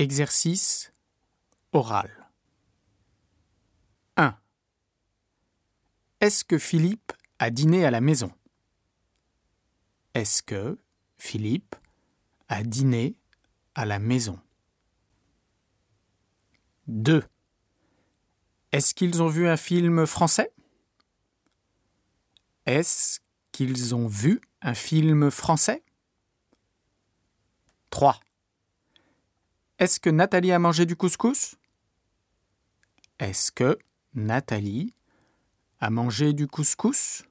Exercice oral. 1. Est-ce que Philippe a dîné à la maison? Est-ce que Philippe a dîné à la maison? 2. Est-ce qu'ils ont vu un film français? Est-ce qu'ils ont vu un film français? 3. Est-ce que Nathalie a mangé du couscous? Est-ce que Nathalie a mangé du couscous?